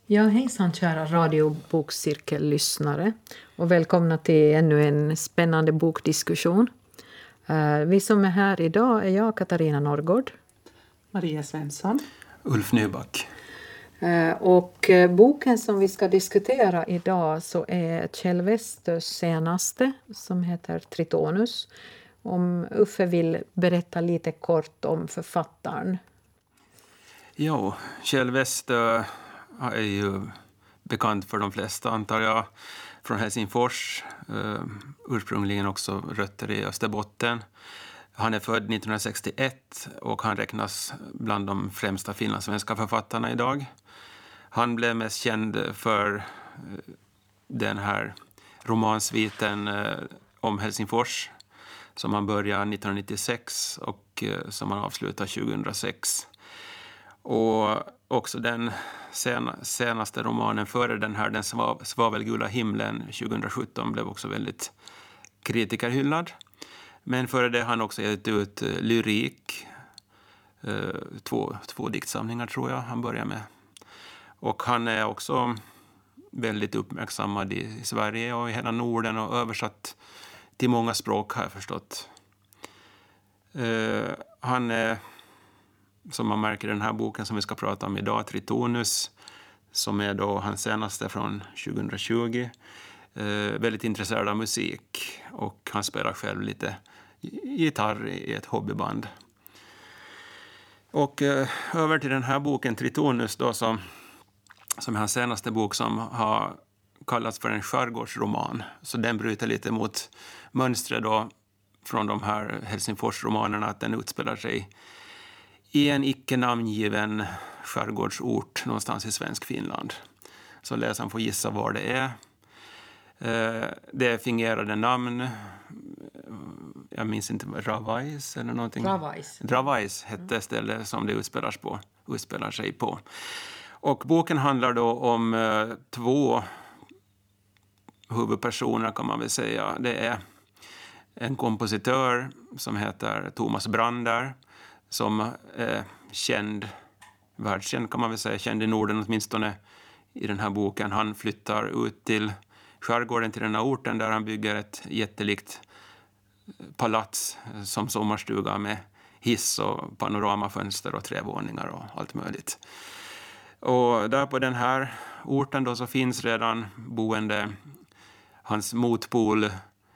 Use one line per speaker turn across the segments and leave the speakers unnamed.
Ja, hejsan kära radiobokcirkellyssnare och välkomna till ännu en spännande bokdiskussion. Vi som är här idag är jag, Katarina Norrgård.
Maria Svensson.
Ulf Nyback.
Och boken som vi ska diskutera idag så är Kjell Westös senaste som heter Tritonus. Om Uffe vill berätta lite kort om författaren.
Jo, Kjell Westö är ju bekant för de flesta, antar jag, från Helsingfors. Ursprungligen också rötter i Österbotten. Han är född 1961 och han räknas bland de främsta finlandssvenska författarna idag. Han blev mest känd för den här romansviten om Helsingfors som han började 1996 och som han avslutade 2006. Och också den senaste romanen före den här, Den svavelgula himlen 2017, blev också väldigt kritikerhyllad. Men före det har han också gett ut lyrik, två diktsamlingar tror jag han börjar med. Och han är också väldigt uppmärksammad i Sverige och i hela Norden och översatt till många språk har jag förstått. Han är, som man märker i den här boken som vi ska prata om idag, Tritonus, som är då hans senaste från 2020. Väldigt intresserad av musik och han spelar själv lite gitarr i ett hobbyband. Och över till den här boken Tritonus då, som är hans senaste bok, som har kallats för en skärgårdsroman. Så den bryter lite mot mönstret då från de här Helsingfors-romanerna, att den utspelar sig i en icke namngiven skärgårdsort någonstans i svensk Finland. Så läsaren får gissa var det är. Det är fingerade namn. Jag minns inte, Ravais eller någonting. Ravais hette stället som det utspelar sig på. Och boken handlar då om två huvudpersoner kan man väl säga. Det är en kompositör som heter Thomas Brander, som är världskänd kan man väl säga, känd i Norden åtminstone i den här boken. Han flyttar ut till skärgården, till den här orten, där han bygger ett jättelikt palats som sommarstuga med hiss och panoramafönster och trävåningar och allt möjligt. Och där på den här orten då så finns redan boende hans motpol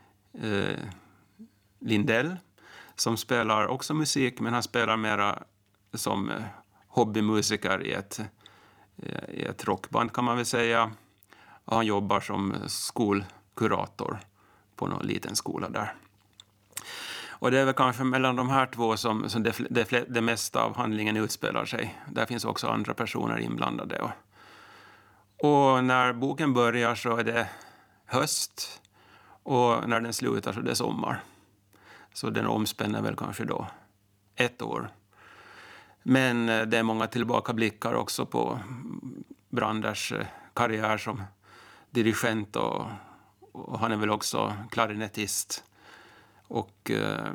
Lindell, som spelar också musik, men han spelar mera som hobbymusiker i ett rockband kan man väl säga. Och han jobbar som skolkurator på någon liten skola där. Och det är väl kanske mellan de här två som det mesta av handlingen utspelar sig. Där finns också andra personer inblandade. Och när boken börjar så är det höst, och när den slutar så är det sommar. Så den omspänner väl kanske då 1 år. Men det är många tillbakablickar också på Branders karriär som dirigent, och han är väl också klarinettist. Och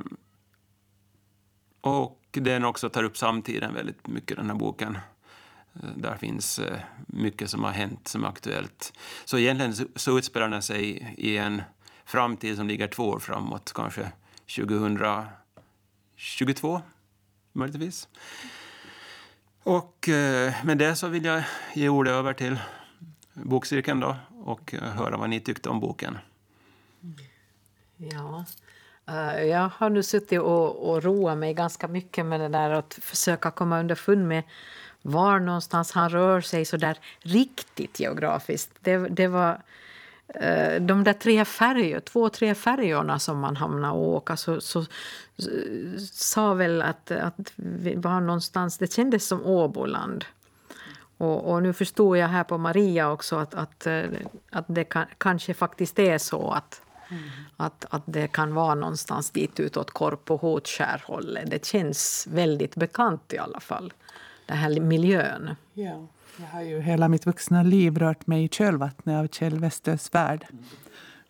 den också tar upp samtiden väldigt mycket, den här boken. Där finns mycket som har hänt som är aktuellt. Så egentligen så utspelar den sig i en framtid som ligger 2 år framåt, kanske 2022 möjligtvis. Och med det så vill jag ge ordet över till bokcirkeln då och höra vad ni tyckte om boken.
Ja, jag har nu suttit och roat mig ganska mycket med det där att försöka komma underfund med var någonstans han rör sig så där riktigt geografiskt. Det var de där 2-3 färjorna som man hamnade och åka, så sa väl att vi var någonstans, det kändes som Åboland. Och nu förstod jag här på Maria också att det kanske faktiskt är så att det kan vara någonstans dit utåt Korp och Håtskärhållet. Det känns väldigt bekant i alla fall, den här miljön.
Ja, jag har ju hela mitt vuxna liv rört mig i kölvattnet av Kjell Westös värld.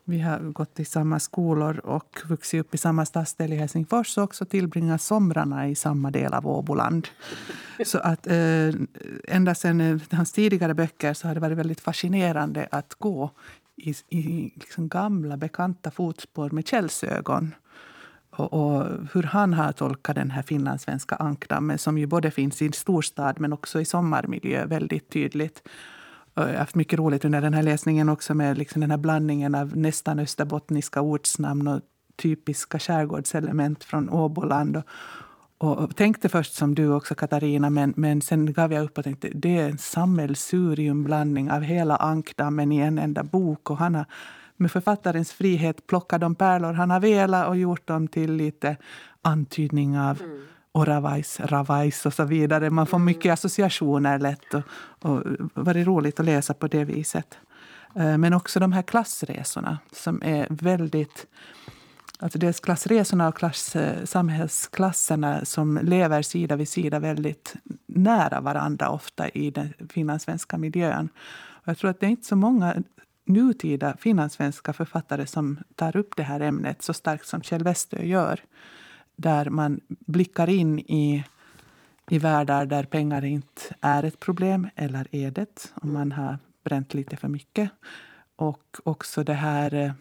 Vi har gått i samma skolor och vuxit upp i samma stadsdel i Helsingfors och också tillbringat somrarna i samma del av Åboland. Så att ända sedan hans tidigare böcker så har det varit väldigt fascinerande att gå i liksom gamla bekanta fotspår med källsögon. Och hur han har tolkat den här finlandssvenska ankdammen som ju både finns i storstad men också i sommarmiljö väldigt tydligt. Jag har haft mycket roligt under den här läsningen också med liksom den här blandningen av nästan österbottniska ortsnamn och typiska skärgårdselement från Åboland. Och tänkte först som du också, Katarina, men sen gav jag upp och tänkte det är en sammelsuriumblandning av hela ankdammen i en enda bok. Och han har med författarens frihet plockat de pärlor han har velat och gjort dem till lite antydning av Oravais, Ravais och så vidare. Man får mycket associationer lätt och var det roligt att läsa på det viset. Men också de här klassresorna som är väldigt... Alltså dels klassresorna och samhällsklasserna som lever sida vid sida väldigt nära varandra ofta i den finlandssvenska miljön. Och jag tror att det är inte så många nutida finlandssvenska författare som tar upp det här ämnet så starkt som Kjell Westö gör. Där man blickar in i världar där pengar inte är ett problem eller är det om man har bränt lite för mycket. Och också det här...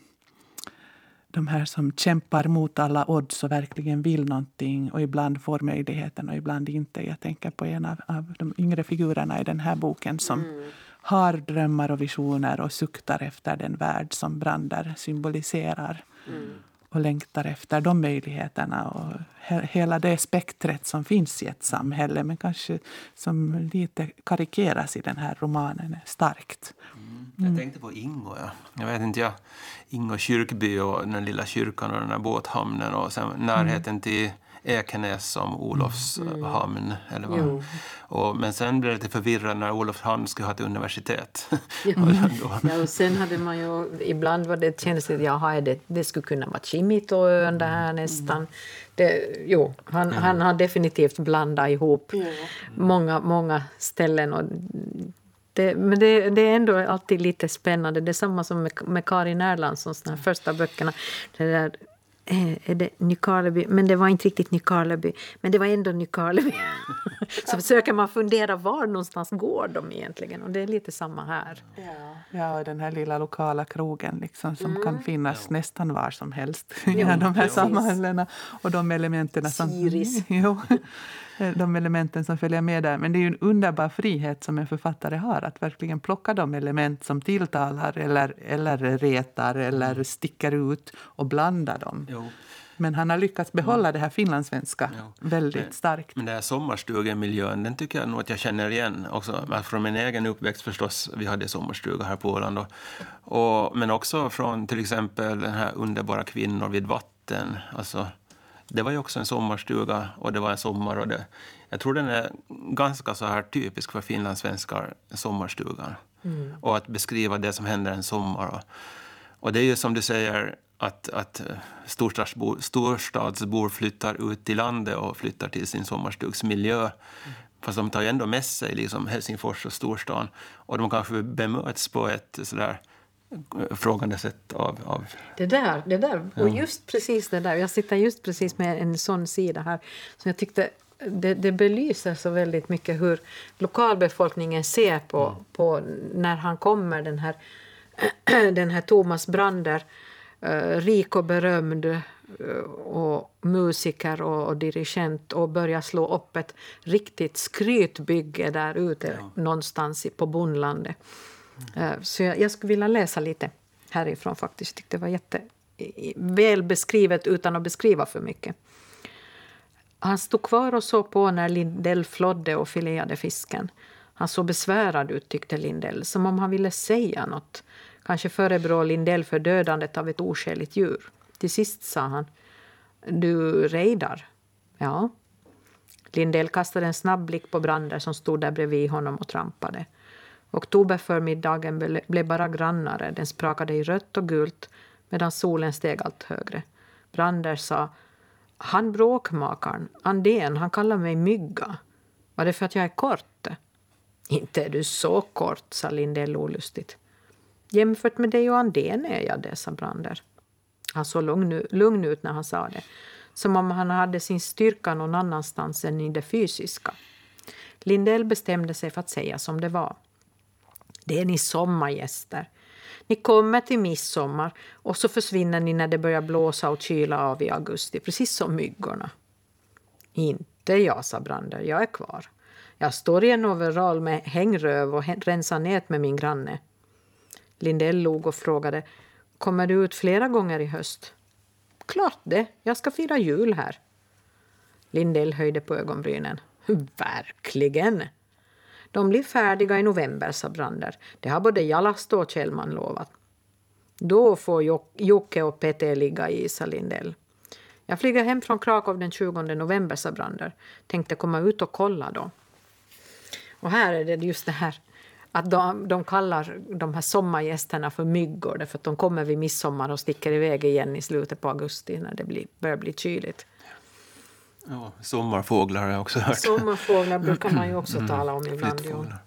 De här som kämpar mot alla odds och verkligen vill någonting och ibland får möjligheten och ibland inte. Jag tänker på en av de yngre figurerna i den här boken som har drömmar och visioner och suktar efter den värld som Brander symboliserar. Och längtar efter de möjligheterna och hela det spektret som finns i ett samhälle men kanske som lite karikeras i den här romanen är starkt.
Jag tänkte på Ingo, ja. Jag vet inte, Ingo kyrkby och den lilla kyrkan och den här båthamnen och sen närheten till Ekenäs som Olofs hamn. Eller vad. Men sen blev det lite förvirrande när Olofs hamn skulle ha ett universitet.
Och sen hade man ju, ibland var det kändes att det skulle kunna vara Kimitoön där här nästan. Han har definitivt blandat ihop många ställen och men det är ändå alltid lite spännande. Det är samma som med Karin Erlandssons första böckerna. Det där, är det Nykarleby? Men det var inte riktigt Nykarleby. Men det var ändå Nykarleby. Så försöker man fundera var någonstans går de egentligen. Och det är lite samma här.
Ja, den här lilla lokala krogen liksom, som kan finnas nästan var som helst. De här samhällena och de elementen som...
Siris.
De elementen som följer med där. Men det är ju en underbar frihet som en författare har att verkligen plocka de element som tilltalar eller retar eller sticker ut och blanda dem. Men han har lyckats behålla det här finlandssvenska väldigt starkt.
Men det här sommarstugemiljön, den tycker jag nog att jag känner igen också. Från min egen uppväxt förstås, vi hade sommarstuga här på Åland. Men också från till exempel den här underbara Kvinnor vid vatten. Alltså, det var ju också en sommarstuga och det var en sommar. Och jag tror den är ganska så här typisk för finlandssvenskar, sommarstugan. Och att beskriva det som händer en sommar. Och det är ju som du säger... Att storstadsbor flyttar ut till landet och flyttar till sin sommarstugsmiljö. Fast de tar ju ändå med sig liksom Helsingfors och storstan. Och de kanske bemöts på ett sådär frågande sätt av...
Det där. Och just precis det där. Jag sitter just precis med en sån sida här. Så jag tyckte det belyser så väldigt mycket hur lokalbefolkningen ser på när han kommer, den här Thomas Brander, rik och berömd och musiker och dirigent och börjar slå upp ett riktigt skrytbygge där ute någonstans på bondlandet. Så jag skulle vilja läsa lite härifrån faktiskt. Jag tyckte det var väl beskrivet utan att beskriva för mycket. Han stod kvar och såg på när Lindell flodde och fileade fisken. Han såg besvärad ut, tyckte Lindell, som om han ville säga något. Kanske förebrå Lindell för dödandet av ett oskäligt djur. Till sist sa han: "Du rejdar." Ja. Lindell kastade en snabb blick på Brander som stod där bredvid honom och trampade. Oktoberförmiddagen blev bara grannare. Den sprakade i rött och gult medan solen steg allt högre. Brander sa: "Han bråkmakaren, Andén, han kallar mig mygga. Var det för att jag är kort?" "Inte är du så kort", sa Lindell olustigt. Jämfört med dig och Andén är jag det, sa Brander. Han såg lugn ut när han sa det. Som om han hade sin styrka någon annanstans än i det fysiska. Lindell bestämde sig för att säga som det var. Det är ni sommargäster. Ni kommer till midsommar och så försvinner ni när det börjar blåsa och kyla av i augusti. Precis som myggorna. Inte jag, sa Brander. Jag är kvar. Jag står i en overall med hängröv och rensar nät med min granne. Lindell log och frågade, kommer du ut flera gånger i höst? Klart det, jag ska fira jul här. Lindell höjde på ögonbrynen. Verkligen. De blir färdiga i november, sa Brander. Det har både Jalasto och Kjellman lovat. Då får Jocke och Peter ligga i, sa Lindell. Jag flyger hem från Krakow den 20 november, sa Brander. Tänkte komma ut och kolla då. Och här är det just det här att de kallar de här sommargästerna för myggor därför att de kommer vid midsommar och sticker iväg igen i slutet på augusti när det börjar bli kyligt.
Ja, sommarfåglar har jag också hört.
Sommarfåglar brukar man ju också tala om ibland.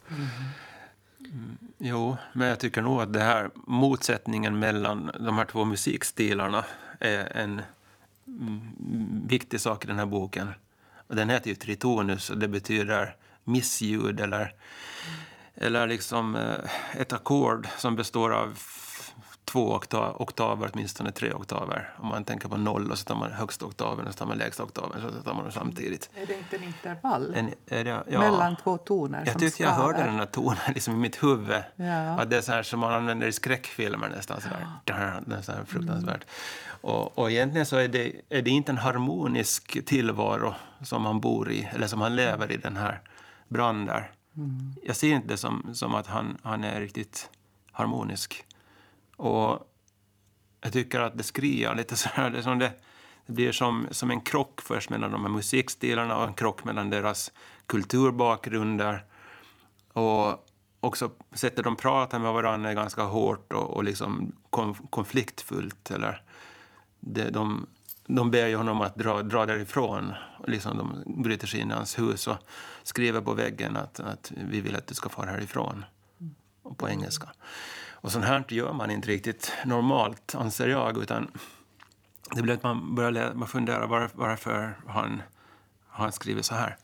Jo, men jag tycker nog att det här motsättningen mellan de här två musikstilarna är en viktig sak i den här boken. Och den heter ju tritonus och det betyder missljud eller liksom ett ackord som består av 2 oktaver, åtminstone 3 oktaver. Om man tänker på 0 och så tar man högsta oktaven och så tar man lägsta oktaven så tar man dem samtidigt.
Är det inte en intervall
ja,
mellan 2 toner?
Jag tyckte jag hörde den här tonen liksom i mitt huvud.
Ja.
Att det är så här som man använder i skräckfilmer nästan. Sådär. Det är så här fruktansvärt. Och egentligen så är det inte en harmonisk tillvaro som man bor i eller som han lever i den här Brander. Jag ser inte det som att han är riktigt harmonisk. Och jag tycker att det skriar lite så här. Det blir som en krock först mellan de här musikstilarna och en krock mellan deras kulturbakgrunder. Och också sättet de pratar med varandra är ganska hårt och liksom konfliktfullt. Eller de ber ju honom att dra därifrån. Och liksom de bryter sig in i hans hus och skriver på väggen att vi vill att du ska fara härifrån. Och på engelska. Och sånt här gör man inte riktigt normalt, anser jag, utan det blir att man börjar fundera varför han skriver så här.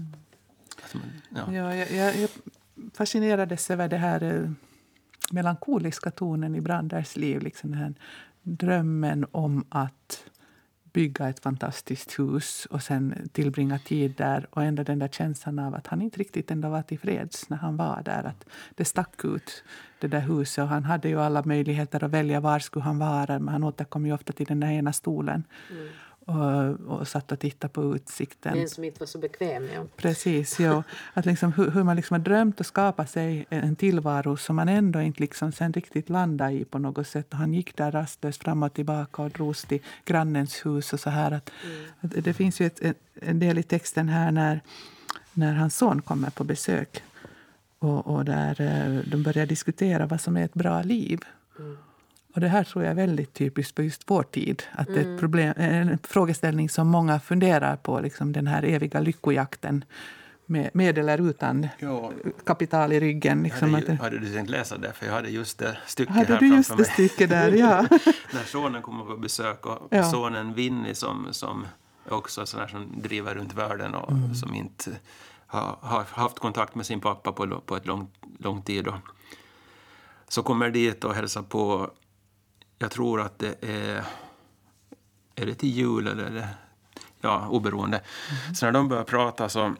Jag fascinerades över det här melankoliska tonen i Branders liv, liksom den här drömmen om att bygga ett fantastiskt hus och sen tillbringa tid där och ändå den där känslan av att han inte riktigt ändå var tillfreds när han var där. Att det stack ut det där huset och han hade ju alla möjligheter att välja var skulle han vara, men han återkom ju ofta till den där ena stolen och satt och tittade på utsikten.
Den som inte var så bekväm, ja.
Precis, ja. Att liksom, hur man liksom har drömt att skapa sig en tillvaro som man ändå inte liksom sen riktigt landade i på något sätt. Och han gick där rastlöst fram och tillbaka och drogs till grannens hus och så här. Att det finns ju en del i texten här när hans son kommer på besök och där de börjar diskutera vad som är ett bra liv. Och det här tror jag är väldigt typiskt på just vår tid. Att det är ett problem, en frågeställning som många funderar på. Liksom den här eviga lyckojakten med eller utan kapital i ryggen. Liksom
hade du tänkt läsa det? För jag hade just det stycket
här
framför mig.
Hade du just det stycket där, ja.
När sonen kommer på besök och sonen Vinny som är också sån här som driver runt världen och som inte har haft kontakt med sin pappa på ett lång tid. Så kommer dit och hälsar på. Jag tror att det är det till jul eller oberoende. Så när de börjar prata så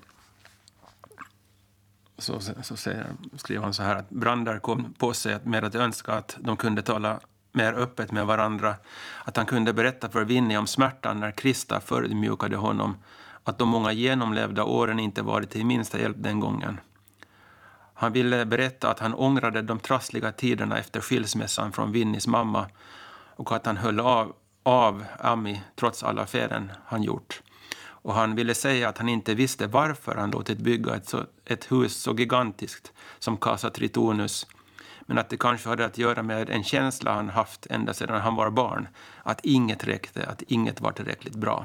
skriver han så här att Brander kom på sig med att önska att de kunde tala mer öppet med varandra. Att han kunde berätta för Vinny om smärtan när Krista förödmjukade honom. Att de många genomlevda åren inte varit till minsta hjälp den gången. Han ville berätta att han ångrade de trassliga tiderna efter skilsmässan från Vinnys mamma och att han höll av Ami trots alla affären han gjort. Och han ville säga att han inte visste varför han låtit bygga ett hus så gigantiskt som Casa Tritonus, men att det kanske hade att göra med en känsla han haft ända sedan han var barn, att inget räckte, att inget var tillräckligt bra.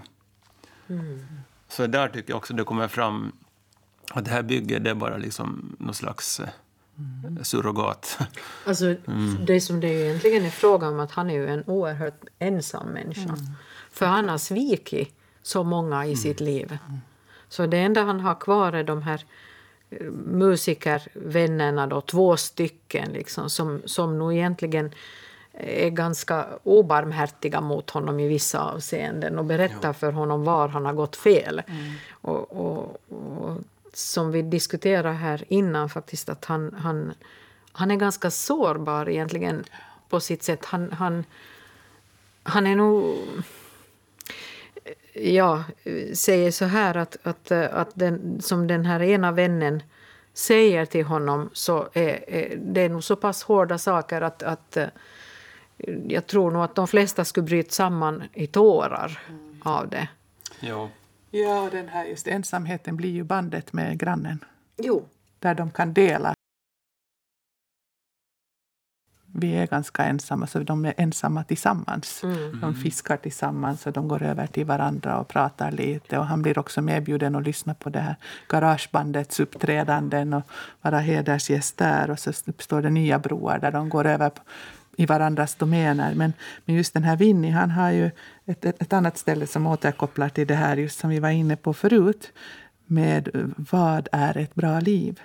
Så där tycker jag också det kommer fram att det här bygget det är bara liksom någon slags surrogat.
Alltså, det som det ju egentligen är frågan om, att han är ju en oerhört ensam människa. För han har svikit så många i sitt liv. Så det enda han har kvar är de här musikervännerna då, 2 stycken liksom, som nog egentligen är ganska obarmhärtiga mot honom i vissa avseenden och berättar för honom var han har gått fel. Och som vi diskuterade här innan faktiskt, att han är ganska sårbar egentligen på sitt sätt. Han är nog... Ja, säger så här att som den här ena vännen säger till honom, så är det nog så pass hårda saker att jag tror nog att de flesta skulle bryta samman i tårar av det.
Ja.
Ja, och den här just ensamheten blir ju bandet med grannen.
Jo.
Där de kan dela. Vi är ganska ensamma, så de är ensamma tillsammans. De fiskar tillsammans och de går över till varandra och pratar lite. Och han blir också medbjuden att lyssna på det här garagebandets uppträdanden och vara hedersgäst där. Och så uppstår det nya broar där de går över i varandras domäner. Men just den här Vinnie, han har ju ett annat ställe som återkopplar till det här, just som vi var inne på förut, med vad är ett bra liv.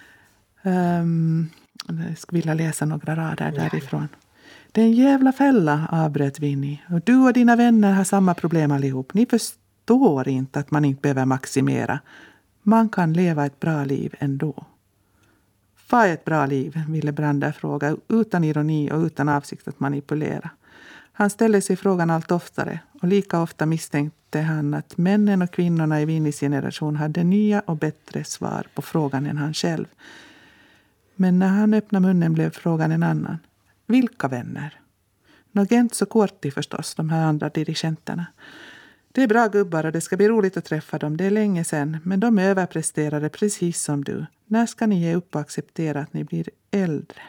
Jag skulle vilja läsa några rader därifrån. Det är en jävla fälla, avbröt Vinnie. Och du och dina vänner har samma problem allihop. Ni förstår inte att man inte behöver maximera. Man kan leva ett bra liv ändå. Vad är ett bra liv? Ville Brander fråga, utan ironi och utan avsikt att manipulera. Han ställde sig frågan allt oftare, och lika ofta misstänkte han att männen och kvinnorna i Vinnies generation hade nya och bättre svar på frågan än han själv. Men när han öppnade munnen blev frågan en annan. Vilka vänner? Nogentz och Corti förstås, de här andra dirigenterna. Det är bra gubbar och det ska bli roligt att träffa dem. Det är länge sedan, men de överpresterade precis som du. När ska ni ge upp och acceptera att ni blir äldre?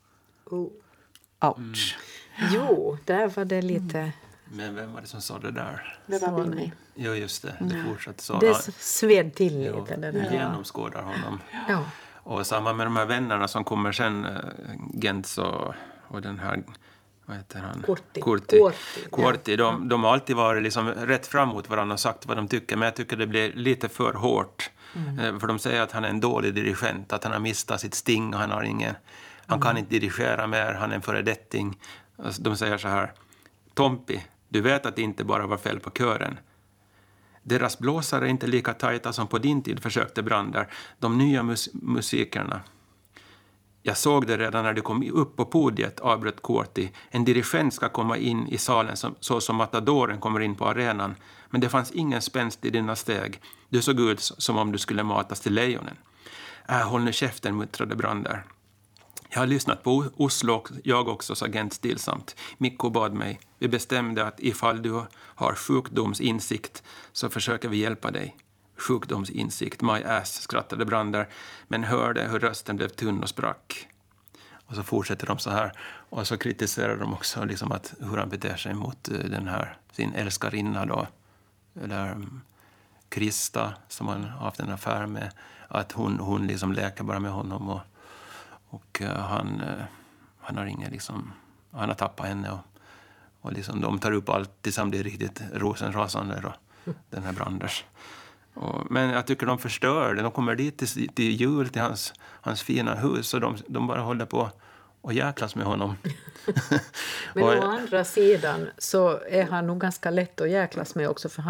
Ouch.
Jo, där var det lite...
Men vem var det som sa det där?
Det var Vinnie.
Jo, just det. Det fortsatte så.
Det sved till lite.
Jo,
Det
vi
där.
genomskådar honom.
Ja.
Och samma med de här vännerna som kommer sen, Gentz och den här, vad heter han? Corti. De har alltid varit liksom rätt fram mot varandra och sagt vad de tycker, men jag tycker det blir lite för hårt. För de säger att han är en dålig dirigent, att han har mistat sitt sting och han kan inte dirigera mer, han är en föredetting. Alltså, de säger så här: Tompi, du vet att det inte bara var fel på kören. Deras blåsare är inte lika tajta som på din tid, försökte Brander. De nya musikerna. Jag såg det redan när du kom upp på podiet, avbröt Corti. En dirigent ska komma in i salen så som matadoren kommer in på arenan. Men det fanns ingen spänst i dina steg. Du såg ut som om du skulle matas till lejonen. Håll nu käften, muttrade Brander. Jag har lyssnat på Oslo, jag också, sa Gent stillsamt. Mikko bad mig. Vi bestämde att ifall du har sjukdomsinsikt så försöker vi hjälpa dig. Sjukdomsinsikt, my ass, skrattade Brander, men hörde hur rösten blev tunn och sprack. Och så fortsätter de så här. Och så kritiserar de också liksom att hur han beter sig mot den här, sin älskarinna då. Eller Krista, som han har haft en affär med. Att hon liksom leker bara med honom och han har ingen liksom, han har tappat henne och liksom de tar upp allt tillsammans, det är riktigt rosenrasande då, den här Branders. Men jag tycker de förstör det. De kommer dit till jul till hans fina hus och de bara håller på och jäklas med honom.
Men å andra sidan så är han nog ganska lätt att jäklas med också, för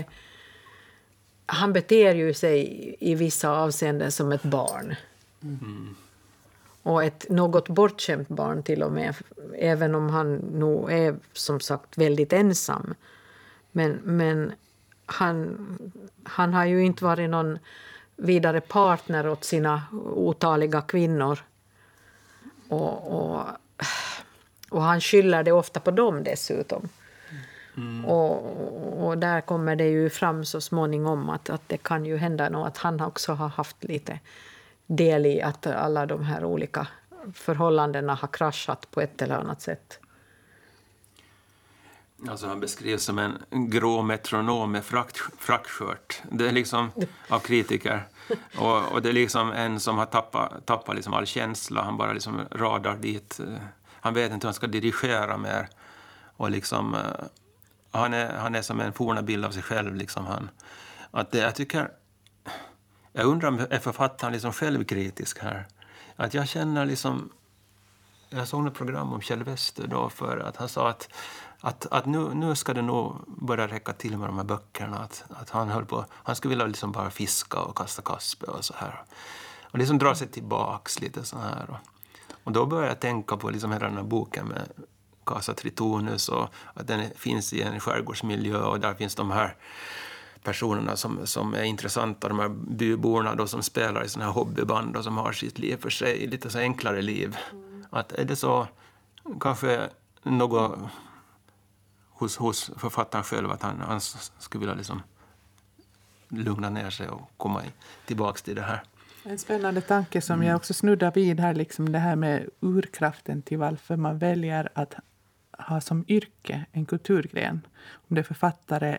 han beter ju sig i vissa avseenden som ett barn. Och ett något bortskämt barn till och med, även om han nog är som sagt väldigt ensam. Men han har ju inte varit någon vidare partner åt sina otaliga kvinnor. Och han skyller det ofta på dem dessutom. Och där kommer det ju fram så småningom att det kan ju hända nog att han också har haft lite del i att alla de här olika förhållandena har kraschat på ett eller annat sätt.
Alltså han beskrivs som en grå metronom med frackskört. Det är liksom av kritiker. Och det är liksom en som har tappat liksom all känsla. Han bara liksom radar dit. Han vet inte hur han ska dirigera mer. Och liksom, han är som en forna bild av sig själv. Liksom jag undrar om är författaren liksom självkritisk här. Att jag känner liksom... Jag såg ett program om Kjell Wester då för att han sa att nu ska det nog börja räcka till med de här böckerna. Att han skulle vilja liksom bara fiska och kasta kaspe och så här. Och liksom dra sig tillbaks lite så här. Och då började jag tänka på liksom hela den här boken med Casa Tritonus och att den finns i en skärgårdsmiljö och där finns de här personerna som är intressanta, de här byborna då som spelar i såna här hobbyband och som har sitt liv för sig, lite så enklare liv. Att är det så kanske något hos författaren själv att han skulle vilja liksom lugna ner sig och komma tillbaks till det här.
En spännande tanke som jag också snuddar vid här, liksom det här med urkraften till varför man väljer att ha som yrke en kulturgren. Om det är författare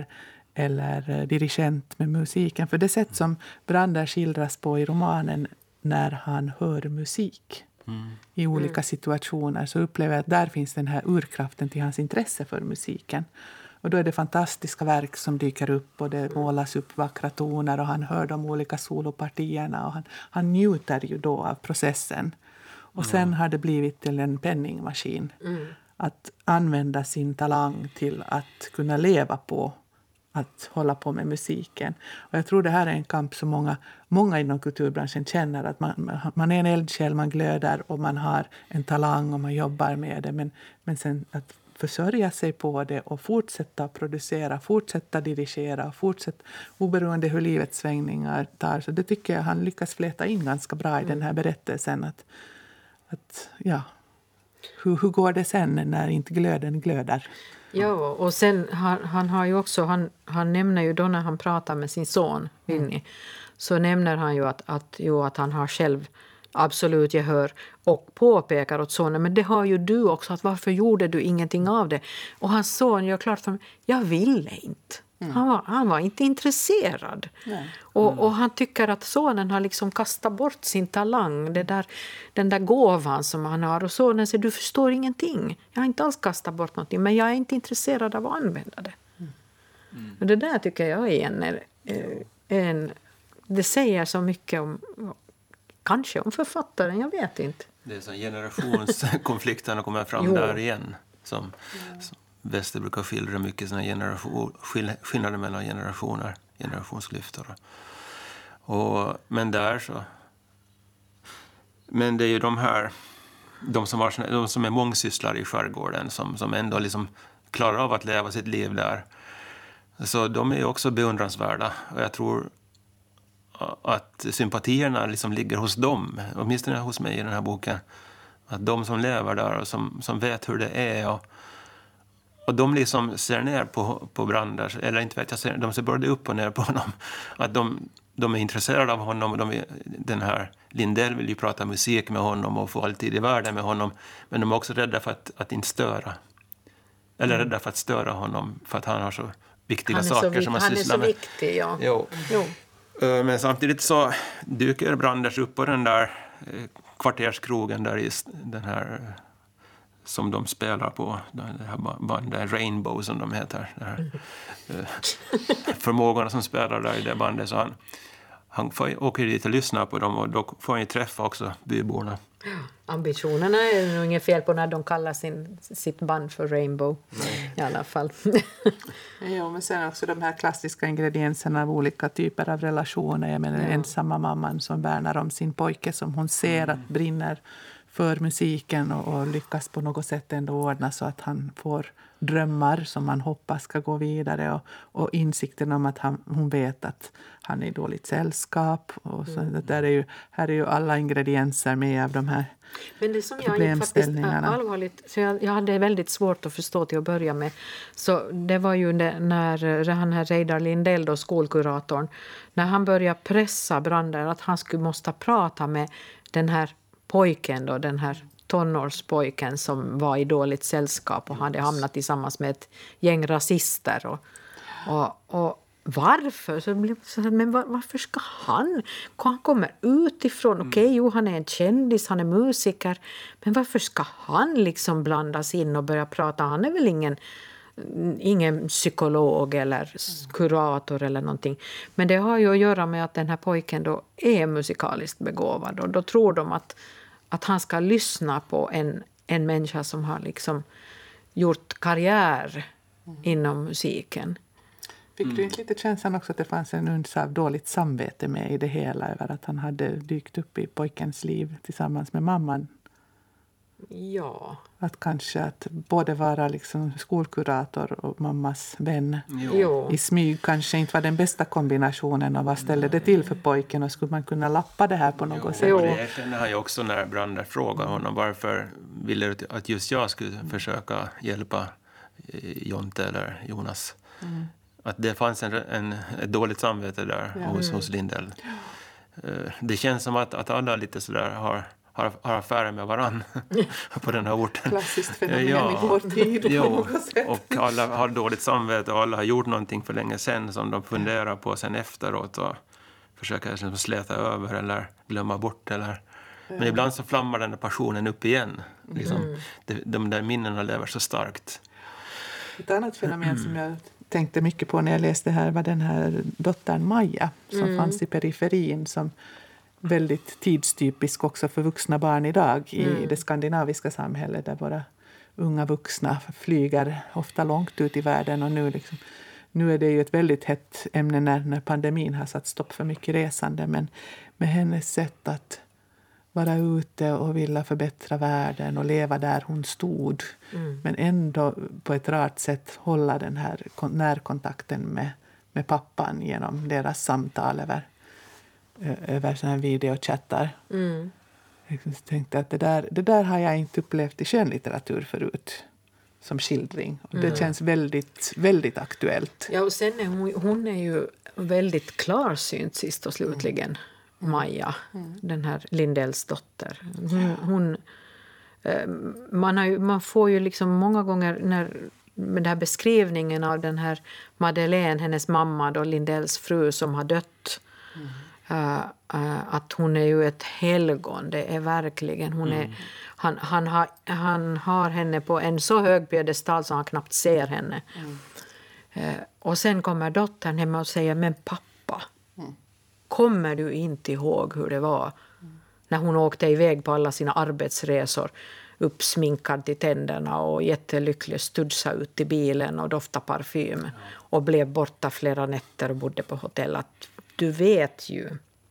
eller dirigent med musiken. För det sätt som Brander skildras på i romanen när han hör musik i olika situationer, så upplever jag att där finns den här urkraften till hans intresse för musiken. Och då är det fantastiska verk som dyker upp och det målas upp vackra toner och han hör de olika solopartierna och han njuter ju då av processen. Och sen har det blivit till en penningmaskin att använda sin talang till att kunna leva på att hålla på med musiken. Och jag tror det här är en kamp som många inom kulturbranschen känner, att man är en eldsjäl, man glödar och man har en talang och man jobbar med det. Men sen att försörja sig på det och fortsätta producera, fortsätta dirigera och fortsätta oberoende hur livets svängningar tar. Så det tycker jag han lyckas fläta in ganska bra i den här berättelsen. Att hur går det sen när inte glöden glödar?
Ja, och sen han har ju också, han nämner ju då när han pratar med sin son Vinny, så nämner han ju att han har själv absolut gehör och påpekar åt sonen, men det har ju du också, att varför gjorde du ingenting av det? Och hans son gör klart för mig, jag ville inte. Han var inte intresserad. Och han tycker att sonen har liksom kastat bort sin talang, den där gåvan som han har. Och sonen säger, du förstår ingenting. Jag har inte alls kastat bort någonting, men jag är inte intresserad av att använda det. Och det där tycker jag är det säger så mycket om, kanske om författaren, jag vet inte.
Det är så generationskonflikterna kommer fram där igen, som Wester brukar skildra mycket såna skillnader mellan generationer, generationsklyftor. Men det är ju de som är mångsysslare i skärgården som ändå liksom klarar av att leva sitt liv där. Så de är ju också beundransvärda, och jag tror att sympatierna liksom ligger hos dem, åtminstone hos mig i den här boken. Att de som lever där och som vet hur det är och de liksom ser ner på Brander, eller inte vet jag, de ser både upp och ner på honom. Att de är intresserade av honom, och den här Lindell vill ju prata musik med honom och få alltid i världen med honom, men de är också rädda för att inte störa. Eller rädda för att störa honom, för att han har så viktiga saker som han sysslar med.
Han är så viktig, ja.
Jo. Men samtidigt så dyker Branders upp på den där kvarterskrogen där i den här som de spelar på, det här bandet Rainbow som de heter, det här, förmågorna som spelar där i det bandet, så han åker dit och lyssnar på dem, och då får han ju träffa också byborna.
Ambitionerna är nog inget fel på när de kallar sitt band för Rainbow. I alla fall.
Ja, men sen också de här klassiska ingredienserna av olika typer av relationer. Jag menar den ensamma mamman som värnar om sin pojke som hon ser att brinner för musiken och lyckas på något sätt ändå ordna så att han får drömmar som man hoppas ska gå vidare, och insikten om att hon vet att han är i dåligt sällskap, och så här är ju alla ingredienser med av de här.
Men det som jag faktiskt allvarligt, så jag hade väldigt svårt att förstå till att börja med, så det var ju när han här Reidar Lindell då, skolkuratorn, när han började pressa Brander att han måste prata med den här pojken då, den här tonårspojken som var i dåligt sällskap och hade hamnat tillsammans med ett gäng rasister. Och varför? Varför ska han? Han kommer utifrån. Okej, han är en kändis, han är musiker. Men varför ska han liksom blandas in och börja prata? Han är väl ingen psykolog eller kurator eller någonting. Men det har ju att göra med att den här pojken då är musikaliskt begåvad. Och då tror de att han ska lyssna på en människa som har liksom gjort karriär inom musiken.
Fick du inte lite känslan också att det fanns en uns av dåligt samvete med i det hela över att han hade dykt upp i pojkens liv tillsammans med mamman?
Ja.
Att kanske att både vara liksom skolkurator och mammas vän i smyg kanske inte var den bästa kombinationen av vad ställde det till för pojken och skulle man kunna lappa det här på något sätt?
Det kände han ju också när Brander frågade honom varför ville du att just jag skulle försöka hjälpa Jonte eller Jonas. Att det fanns ett dåligt samvete där hos Lindell. Det känns som att alla lite sådär har affärer med varann på den här orten.
Klassiskt fenomen i vår tid.
Och alla har dåligt samvete och alla har gjort någonting för länge sedan som de funderar på sen efteråt och försöker liksom släta över eller glömma bort. Men ibland så flammar den där passionen upp igen. Liksom, de där minnena lever så starkt.
Ett annat fenomen som jag tänkte mycket på när jag läste här var den här dottern Maja som fanns i periferin som väldigt tidstypisk också för vuxna barn idag i det skandinaviska samhället där våra unga vuxna flyger ofta långt ut i världen och nu är det ju ett väldigt hett ämne när pandemin har satt stopp för mycket resande, men med hennes sätt att vara ute och vilja förbättra världen och leva där hon stod men ändå på ett rart sätt hålla den här närkontakten med pappan genom deras samtal över såna här videochattar. Jag tänkte att det där har jag inte upplevt i skönlitteratur förut som skildring. Och det känns väldigt, väldigt aktuellt.
Ja, och sen är hon är ju väldigt klarsynt sist och slutligen. Maja, den här Lindells dotter. Man får ju liksom många gånger med den här beskrivningen av den här Madeleine, hennes mamma då, Lindells fru som har dött. Att hon är ju ett helgon, det är verkligen han har henne på en så hög piedestal som han knappt ser henne. Och sen kommer dottern hem och säger, men pappa, kommer du inte ihåg hur det var när hon åkte iväg på alla sina arbetsresor, uppsminkad till tänderna och jättelycklig, studsa ut i bilen och dofta parfym och blev borta flera nätter och bodde på hotell. Att du vet ju.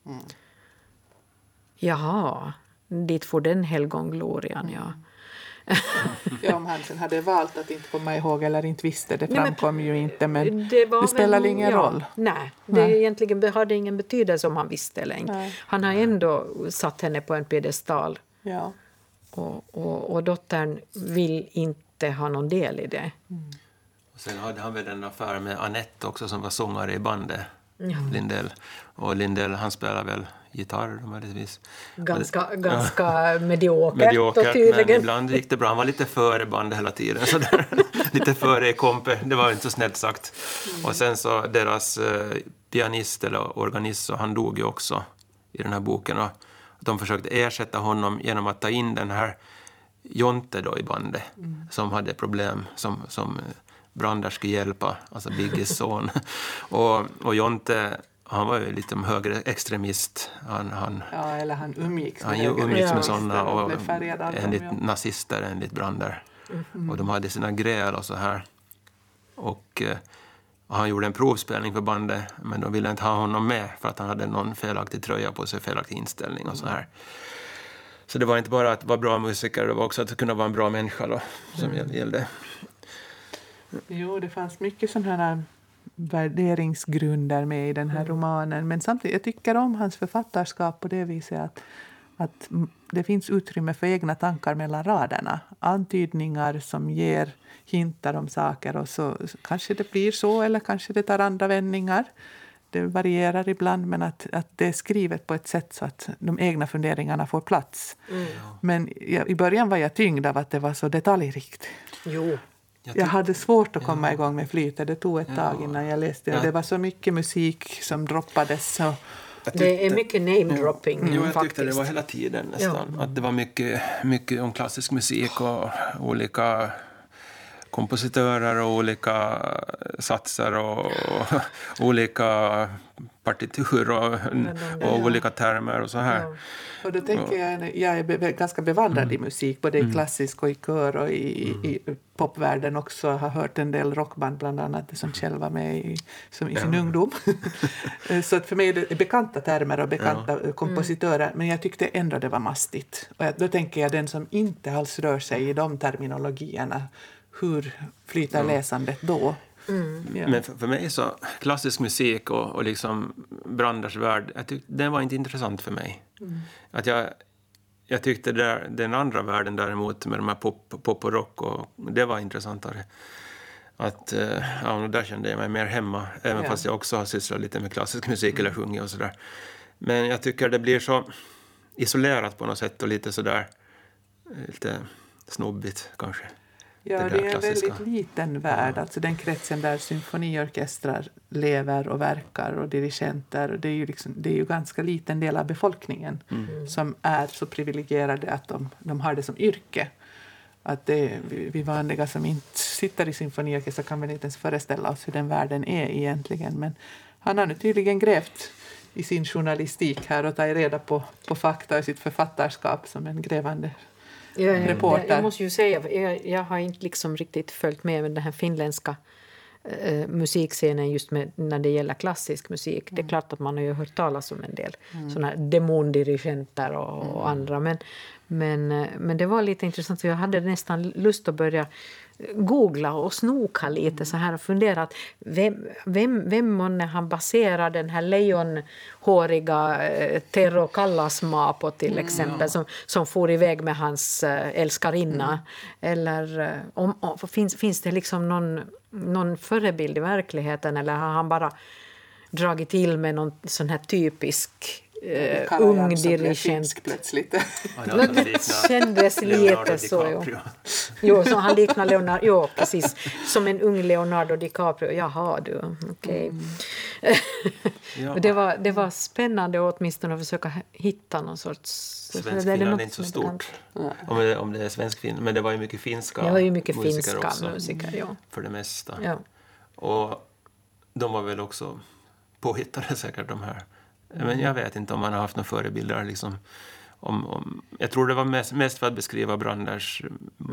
Jaha, dit får den helgonglorian, ja.
Ja, om han sen hade valt att inte komma ihåg eller inte visste, det framkom ju inte, men det spelar ingen roll.
Nej, det egentligen hade ingen betydelse om han visste eller inte. Nej. Han har ändå satt henne på en piedestal. Ja. Och dottern vill inte ha någon del i det.
Och sen hade han väl en affär med Annette också som var sångare i bandet. Lindell. Och Lindell, han spelar väl gitarr möjligtvis.
Ganska mediokert tydligen.
Men ibland gick det bra. Han var lite före bandet hela tiden. Så där. Lite före i kompe. Det var inte så snällt sagt. Och sen så deras pianist eller organist, så han dog ju också i den här boken. Och de försökte ersätta honom genom att ta in den här Jonte då i bandet. Som hade problem som Brander skulle hjälpa, alltså Bigges son. och Jonte, han var ju lite högre extremist. Han
umgicks
med sådana och enligt nazister, enligt Brander. Och de hade sina gräl och så här. Och han gjorde en provspelning för bandet, men de ville inte ha honom med för att han hade någon felaktig tröja på sig, felaktig inställning och så här. Så det var inte bara att vara bra musiker, det var också att kunna vara en bra människa då, som gällde.
Jo, det fanns mycket sådana här värderingsgrunder med i den här romanen. Men samtidigt, jag tycker om hans författarskap på det viset att det finns utrymme för egna tankar mellan raderna. Antydningar som ger hintar om saker och så kanske det blir så eller kanske det tar andra vändningar. det varierar ibland, men att det är skrivet på ett sätt så att de egna funderingarna får plats. Men i början var jag tyngd av att det var så detaljrikt.
Jo.
Jag hade svårt att komma igång med flytet. Det tog ett tag innan jag läste. Det var så mycket musik som droppades. Så.
Det är mycket name-dropping.
Jo, jag
faktiskt.
tyckte det var hela tiden nästan. Att det var mycket om klassisk musik och olika kompositörer och olika satser och olika partitur och olika termer och så här.
Ja. Och då tänker jag är ganska bevandrad i musik, både i klassisk och i kör och i popvärlden också. Jag har hört en del rockband, bland annat det som själv var med i sin ungdom. Så att för mig är det bekanta termer och bekanta kompositörer, men jag tyckte ändå det var mastigt. Och då tänker jag den som inte alls rör sig i de terminologierna, hur flyter läsandet då? Ja.
Men för mig så klassisk musik och liksom Branders värld, den var inte intressant för mig. Att jag tyckte den andra världen däremot med de här pop och rock, och det var intressantare. Att där kände jag mig mer hemma, även fast jag också har sysslat lite med klassisk musik eller sjungit och sådär. Men jag tycker det blir så isolerat på något sätt och lite sådär lite snobbigt kanske.
Ja, det är en väldigt liten värld. Alltså den kretsen där symfoniorkestrar lever och verkar och dirigenter. Och det är ju ganska liten del av befolkningen som är så privilegierade att de har det som yrke. Att vi vanliga som inte sitter i symfoniorkestrar kan väl inte ens föreställa oss hur den världen är egentligen. Men han har nu tydligen grävt i sin journalistik här och tagit reda på fakta i sitt författarskap som en grävande reporter.
Jag måste ju säga, jag har inte liksom riktigt följt med den här finländska musikscenen just när det gäller klassisk musik. Det är klart att man har ju hört talas om en del såna här demondirigenter och andra. Men det var lite intressant. Jag hade nästan lust att börja googla och snoka lite så här och fundera att vem månne han baserar den här lejonhåriga Tero Kallasmaa på till exempel som for iväg med hans älskarinna eller finns det liksom någon förebild i verkligheten, eller har han bara dragit till med någon sån här typisk ung dirigent
plötsligt.
Det kändes lite så. Jo, så han liknar Leonardo. Jo, precis. Som en ung Leonardo DiCaprio. Jaha, du. Okej. Det var spännande åtminstone att försöka hitta någon sorts...
Svensk film är inte så stort. Om det är svensk film. Men det var ju mycket finska musiker.
Det var ju mycket finska musiker, ja.
För det mesta.
Ja.
Och de var väl också påhittade säkert de här. Men jag vet inte om man har haft några förebilder liksom, jag tror det var mest för att beskriva Branders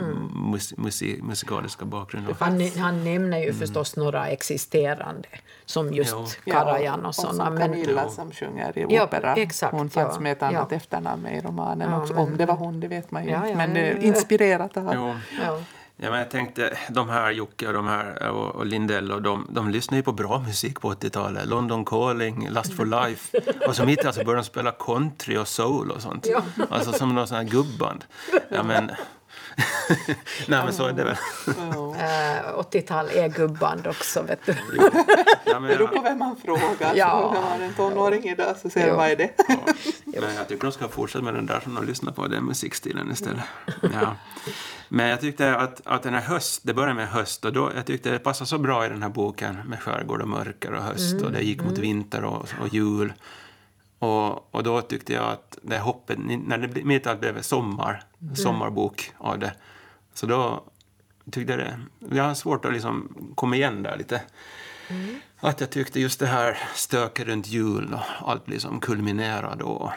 musikaliska bakgrund.
Han nämner ju förstås några existerande som just Karajan och sådana.
Och Camilla som sjunger i opera.
Exakt,
hon fanns med ett annat efternamn i romanen också. Om det var hon, det vet man ju inte. Men inspirerat av.
Ja, men jag tänkte, de här Jocke och de här och Lindell och de lyssnar ju på bra musik på 80-talet. London Calling, Lust for Life. Och så mitt alltså började de spela country och soul och sånt. Ja. Alltså som någon sån här gubband. Ja, men... Nej, men så är det väl.
80-tal är gubband också, vet du.
Ja,
det beror på vem man frågar.
Ja.
Så har en tonåring idag så säger vad är det?
Men jag tycker de ska fortsätta med den där som de lyssnar på, den musikstilen istället. Ja. Men jag tyckte att den här det började med höst och då, jag tyckte det passade så bra i den här boken med skärgård och mörker och höst och det gick mot vinter och jul. Och då tyckte jag att det hoppet, när det mitt allt blev sommarbok av det, så då tyckte jag har svårt att liksom komma igen där lite. Att jag tyckte just det här stöket runt jul och allt liksom kulminerade och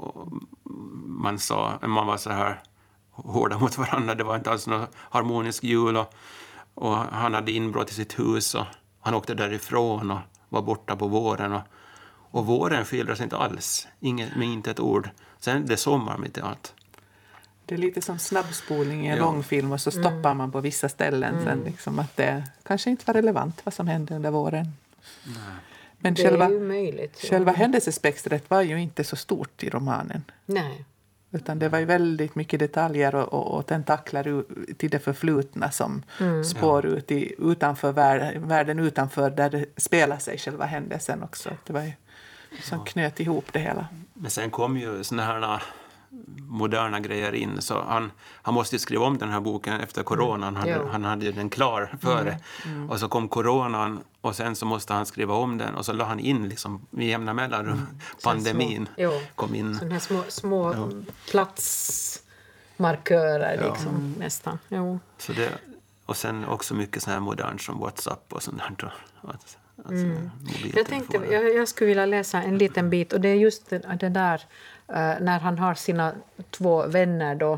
man var så här hårda mot varandra. Det var inte alls någon harmonisk jul och han hade inbrott i sitt hus och han åkte därifrån och var borta på våren och våren skildras inte alls, med inte ett ord. Sen det är sommar mitt i allt.
Det är lite som snabbspolning i en långfilm och så stoppar man på vissa ställen sen liksom att det kanske inte var relevant vad som hände under våren.
Nej.
Men
det är ju möjligt.
Själva händelsespektret var ju inte så stort i romanen.
Nej.
Utan det var ju väldigt mycket detaljer och tentakler till det förflutna som spår ut utanför världen utanför där det spelar sig själva händelsen också. Det var ju som knöt ihop det hela.
Men sen kom ju såna här moderna grejer in, så han måste ju skriva om den här boken efter coronan. Han hade ju den klar före. Och så kom coronan och sen så måste han skriva om den och så la han in liksom med jämna mellanrum pandemin kom in.
Sådana här små platsmarkörer liksom nästan. Jo.
Så det, och sen också mycket så här modernt som WhatsApp och sånt där.
Jag tänkte jag skulle vilja läsa en liten bit och det är just det där när han har sina 2 vänner då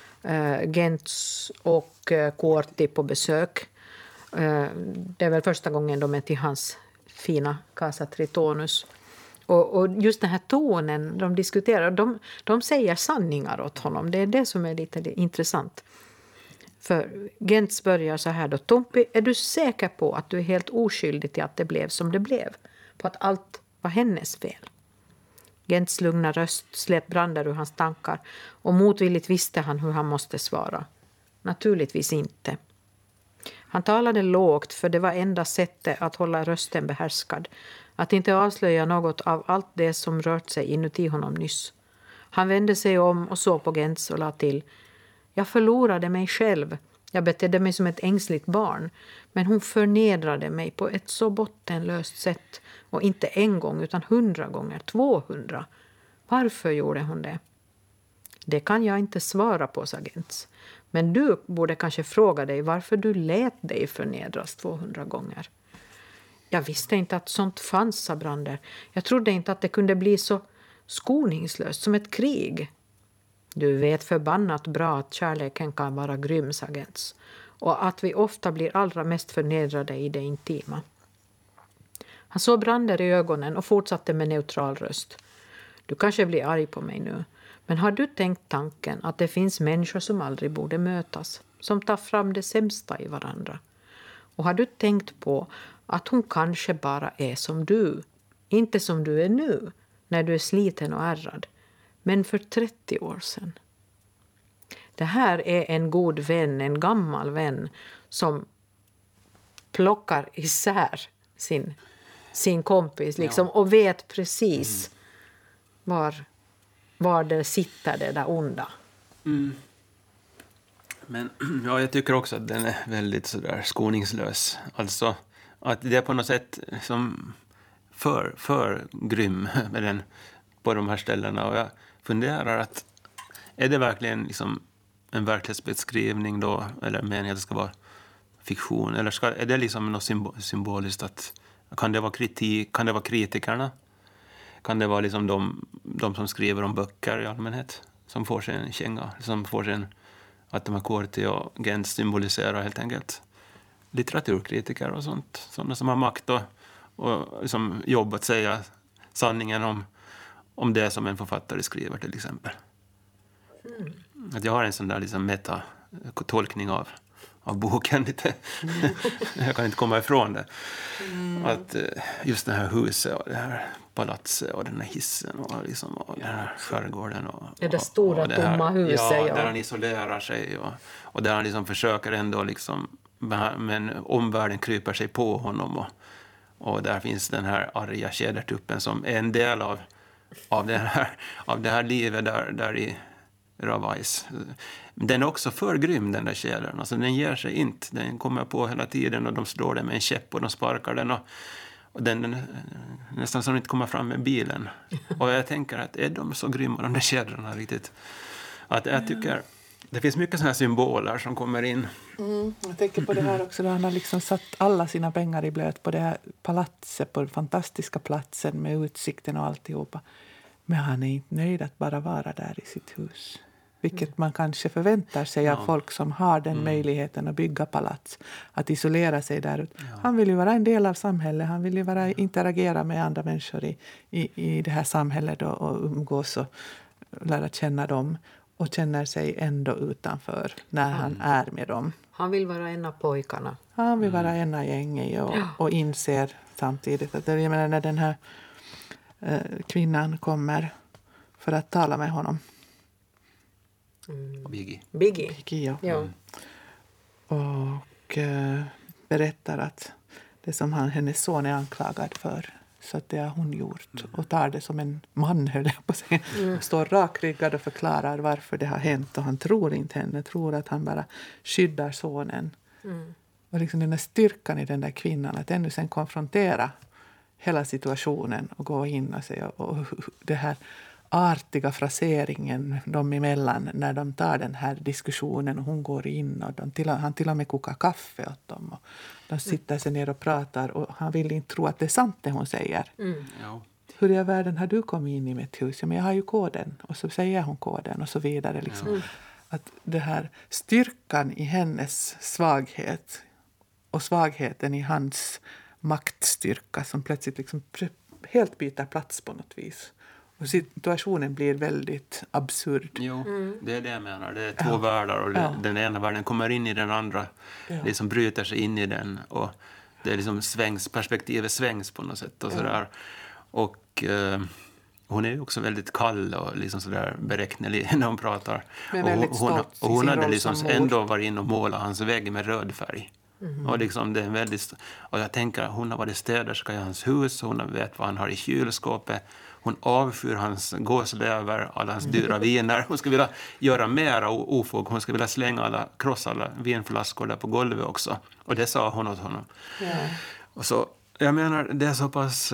Gentz och Kuorti på besök. Det är väl första gången de är till hans fina Casa Tritonus. Och just den här tonen de diskuterar, de säger sanningar åt honom. Det är det som är lite intressant. För Gentz börjar så här då. Tompi, är du säker på att du är helt oskyldig till att det blev som det blev? På att allt var hennes fel? Gentz lugna röst släpp brandar ur hans tankar och motvilligt visste han hur han måste svara. Naturligtvis inte. Han talade lågt för det var enda sättet att hålla rösten behärskad. Att inte avslöja något av allt det som rört sig inuti honom nyss. Han vände sig om och såg på Gentz och la till. Jag förlorade mig själv. Jag betedde mig som ett ängsligt barn. Men hon förnedrade mig på ett så bottenlöst sätt. Och inte en gång utan 100 gånger, 200. Varför gjorde hon det? Det kan jag inte svara på, sa Gentz. Men du borde kanske fråga dig varför du lät dig förnedras 200 gånger. Jag visste inte att sånt fanns, sa Brander. Jag trodde inte att det kunde bli så skoningslöst som ett krig. Du vet förbannat bra att kärleken kan vara grym, sa Gentz. Och att vi ofta blir allra mest förnedrade i det intima. Han såg Brander i ögonen och fortsatte med neutral röst. Du kanske blir arg på mig nu. Men har du tänkt tanken att det finns människor som aldrig borde mötas? Som tar fram det sämsta i varandra? Och har du tänkt på att hon kanske bara är som du? Inte som du är nu, när du är sliten och ärrad. Men för 30 år sedan. Det här är en god vän, en gammal vän som plockar isär sin kompis liksom, och vet precis var det sitter det där onda.
Men jag tycker också att den är väldigt sådär skoningslös. Alltså att det är på något sätt som för grym med den på de här ställena. Och jag funderar att är det verkligen liksom en verklighetsbeskrivning då, eller meningen att det ska vara fiktion, eller är det liksom något symboliskt att kan det vara kritik, kan det vara kritikerna, kan det vara liksom de som skriver om böcker i allmänhet som får sig en känga, som får sig att de här Kuorti och Gentz symboliserar helt enkelt litteraturkritiker och sånt, sådana som har makt och liksom jobb att säga sanningen om det som en författare skriver till exempel. Att jag har en sån där liksom meta-tolkning av boken lite. Jag kan inte komma ifrån det. Att just det här huset och det här palatset och den här hissen och, liksom, och den här skärgården.
Det där stora
och det här,
tomma huset.
Ja, där han isolerar sig och där han liksom försöker ändå liksom, men omvärlden kryper sig på honom och där finns den här arga tjädertuppen som är en del av det här livet där i Ravais. Den är också för grym, den där tjädern. Alltså, den ger sig inte. Den kommer på hela tiden och de slår den med en käpp och de sparkar den och den nästan som inte kommer fram med bilen. Och jag tänker att är de så grymma, de där tjädrarna riktigt? Att jag tycker det finns mycket sådana här symboler som kommer in.
Jag tänker på det här också, då han har liksom satt alla sina pengar i blöt på det här palatset, på den fantastiska platsen med utsikten och alltihopa. Men han är inte nöjd att bara vara där i sitt hus. Vilket man kanske förväntar sig av folk som har den möjligheten att bygga palats. Att isolera sig där. Han vill ju vara en del av samhället. Han vill ju interagera med andra människor i det här samhället och umgås och lära känna dem. Och känner sig ändå utanför när han är med dem.
Han vill vara en av pojkarna.
Han vill vara en av gänget och inser samtidigt att jag menar, när den här kvinnan kommer för att tala med honom.
och Biggie.
Biggie. Ja.
Och berättar att det som hennes son är anklagad för, så att det har hon gjort. Och tar det som en man, höll jag på att säga. Står rakryggad och förklarar varför det har hänt. Och han tror inte henne, tror att han bara skyddar sonen. Och liksom den där styrkan i den där kvinnan, att ännu sen konfrontera hela situationen och gå in och säga, och det här artiga fraseringen dem emellan när de tar den här diskussionen och hon går in och han till och med kokar kaffe åt dem och de sitter sig ner och pratar och han vill inte tro att det är sant det hon säger.
Ja.
Hur i världen har du kommit in i mitt hus? Ja, men jag har ju koden. Och så säger hon koden och så vidare. Liksom. Att det här styrkan i hennes svaghet och svagheten i hans maktstyrka som plötsligt liksom helt byter plats på något vis. Och situationen blir väldigt absurd.
Jo, det är det jag menar. Det är två världar och den ena världen kommer in i den andra. Liksom bryter sig in i den och det är liksom perspektivet svängs på något sätt och sådär. Och hon är ju också väldigt kall och liksom sådär beräknelig när hon pratar. Och hon hade liksom ändå varit in och målat hans vägg med röd färg. Och liksom det är väldigt, och jag tänker hon har varit städerska i hans hus, hon vet vad han har i kylskåpet. Hon avskyr hans gåslever, alla hans dyra viner. Hon skulle vilja göra mera ofog. Hon skulle vilja krossa alla vinflaskor där på golvet också. Och det sa hon åt honom. Och så, jag menar, det är så pass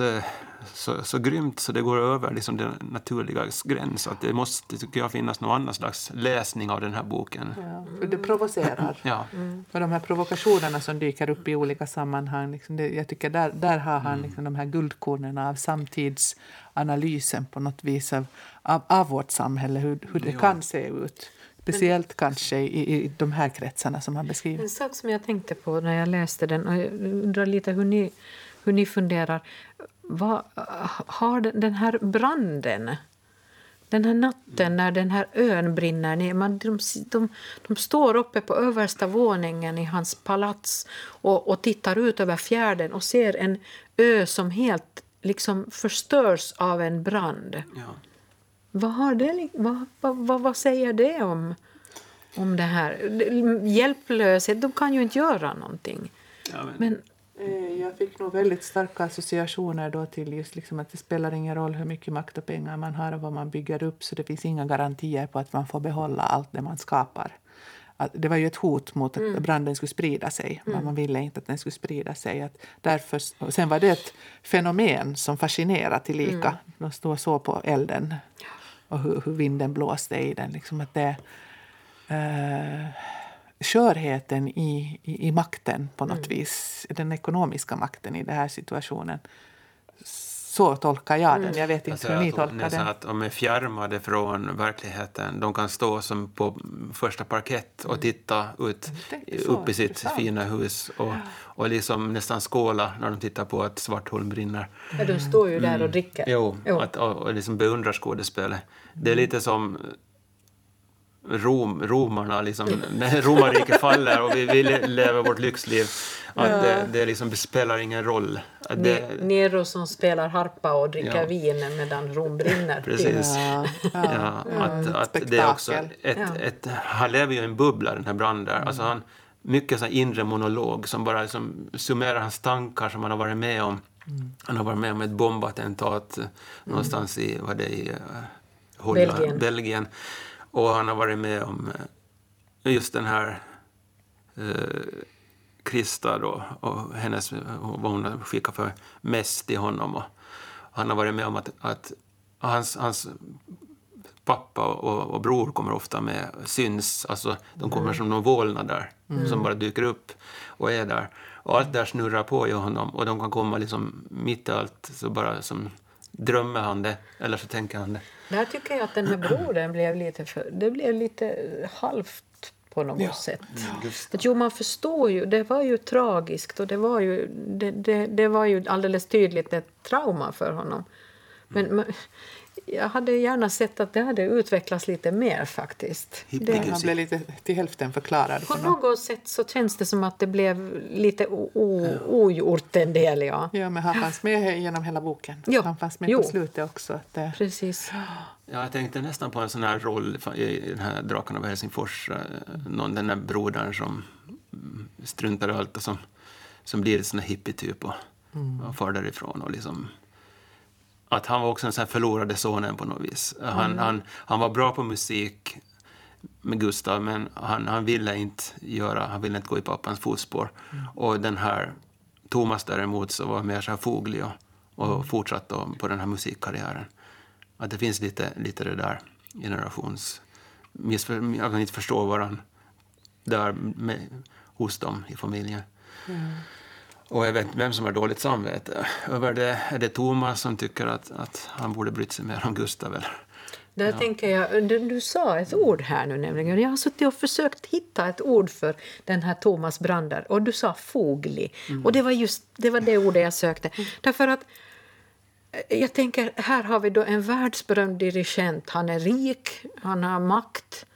så grymt så det går över liksom den naturliga gräns. Att det måste, tycker jag, finnas någon annan slags läsning av den här boken.
Ja, för det provocerar. För de här provokationerna som dyker upp i olika sammanhang. Liksom jag tycker där har han liksom de här guldkornen av samtidsanalysen på något vis av vårt samhälle. Hur det kan se ut. Speciellt kanske i de här kretsarna som han beskriver.
En sak som jag tänkte på när jag läste den, och jag undrar lite hur ni funderar. Vad har den här branden, den här natten när den här ön brinner ner, de står uppe på översta våningen i hans palats och tittar ut över fjärden och ser en ö som helt liksom förstörs av en brand. Vad säger det om det här? Hjälplöshet, de kan ju inte göra någonting. Men
jag fick nog väldigt starka associationer då till just liksom att det spelar ingen roll hur mycket makt och pengar man har och vad man bygger upp, så det finns inga garantier på att man får behålla allt det man skapar. Att det var ju ett hot mot att branden skulle sprida sig. Men man ville inte att den skulle sprida sig. Att därför, och sen var det ett fenomen som fascinerade tillika. De stod så på elden och hur vinden blåste i den. Liksom att det skörheten i makten på något vis, den ekonomiska makten i den här situationen. Så tolkar jag den. Jag vet inte hur ni tolkar den.
Att de är fjärmade från verkligheten. De kan stå som på första parkett och titta upp i sitt fina hus och liksom nästan skåla när de tittar på att Svartholm brinner.
Ja, de står ju där och dricker.
Jo. Och liksom beundrar skådespelet. Det är lite som romarna liksom, när romarriket faller och vi lever vårt lyxliv, att det liksom spelar ingen roll.
Nero som spelar harpa och dricker vin medan Rom brinner.
Precis. Att det är också han lever ju i en bubbla, den här branden. Alltså han mycket så inre monolog som bara liksom summerar hans tankar som han har varit med om. Han har varit med om ett bombattentat någonstans i Holland, Belgien. Och han har varit med om just den här Krista då, och hennes, vad hon skickar för mest till honom. Och han har varit med om att hans pappa och bror kommer ofta med, syns. Alltså de kommer som någon vålnad där som bara dyker upp och är där. Och allt där snurrar på i honom och de kan komma liksom mitt i allt, så bara som drömmer han det, eller så tänker han det.
Där tycker jag att den här brodern blev lite halvt på något sätt. Man förstår ju, det var ju tragiskt och det var ju alldeles tydligt ett trauma för honom. Men jag hade gärna sett att det hade utvecklats lite mer faktiskt.
Han blev lite till hälften förklarad.
På något sätt så känns det som att det blev lite ogjort en del, ja.
Ja, men han fanns med genom hela boken.
Jo.
Han fanns med på slutet också. Att
Precis.
Ja, jag tänkte nästan på en sån här roll i den här Drakarna av Helsingfors. Den där brodern som struntar i allt och som blir ett sån här hippie-typ och far därifrån. Och liksom, att han var också en sån här förlorade sonen på något vis. Han var bra på musik med Gustav, men han ville inte gå i pappans fotspår. Och den här Thomas däremot så var mer så här foglig och fortsatte på den här musikkarriären. Att det finns lite det där generations... Att man inte förstår varandra där hos dem i familjen. Och jag vet vem som har dåligt samvete. Är det Thomas som tycker att han borde bryta sig mer om Gustav? Eller?
Där tänker jag, du sa ett ord här nu nämligen. Jag har suttit och försökt hitta ett ord för den här Thomas Brander. Och du sa foglig. Och det var det ordet jag sökte. Därför att jag tänker, här har vi då en världsberömd dirigent. Han är rik, han har makt.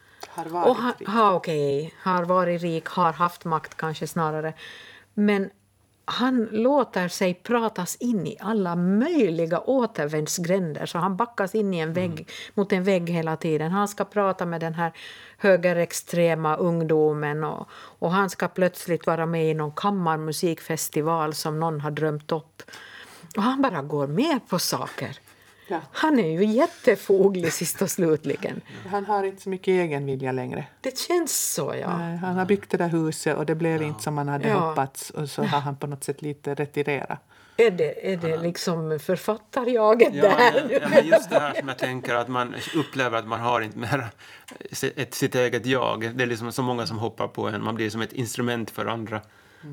Har varit rik, har haft makt kanske snarare. Men han låter sig pratas in i alla möjliga återvändsgränder. Så han backas in i en vägg, mot en vägg hela tiden. Han ska prata med den här högerextrema ungdomen. Och han ska plötsligt vara med i någon kammarmusikfestival som någon har drömt upp. Och han bara går med på saker. Ja. Han är ju jättefoglig sist och slutligen.
Han har inte så mycket egen vilja längre.
Det känns så, ja.
Han har byggt det där huset och det blev inte som man hade hoppats. Och så har han på något sätt lite retirerat.
Är det liksom författarjaget där?
Ja, just det här som jag tänker att man upplever att man har inte mer sitt eget jag. Det är liksom så många som hoppar på en. Man blir som ett instrument för andra.